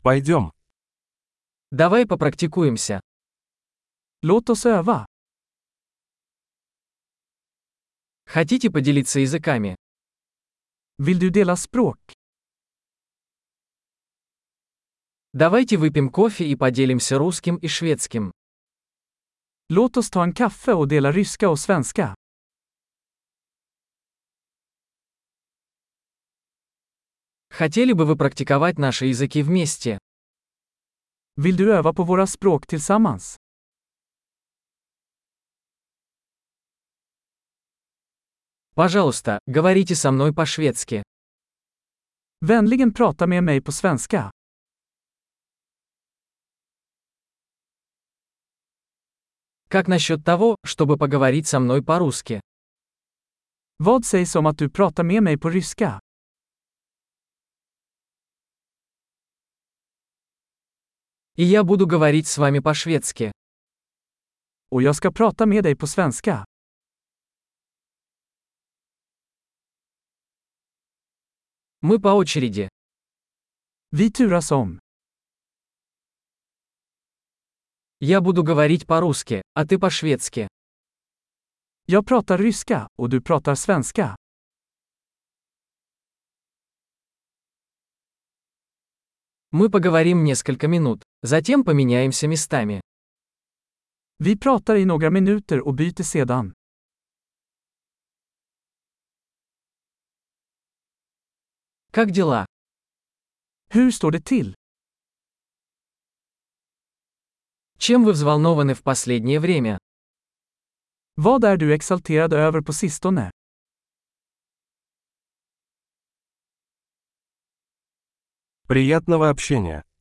Пойдем. Давай попрактикуемся. Låt oss öva. Хотите поделиться языками? Vill du dela språk? Давайте выпьем кофе и поделимся русским и шведским. Låt oss ta en kaffe och dela ryska och svenska. Хотели бы вы практиковать наши языки вместе? Vill du öva på våra språk tillsammans? Пожалуйста, говорите со мной по-шведски. Vänligen prata med mig på svenska. Как насчет того, чтобы поговорить со мной по-русски? Vad sägs om att du pratar med mig på ryska? И я буду говорить с вами по-шведски. Och jag ska prata med dig på svenska. Мы по очереди. Vi turas om. Я буду говорить по-русски, а ты по-шведски. Jag pratar ryska, och du pratar svenska. Мы поговорим несколько минут, затем поменяемся местами. Vi pratar i några minuter och byter sedan. Как дела? Hur står det till? Чем вы взволнованы в последнее время? Vad är du exalterad över på sistone? Приятного общения.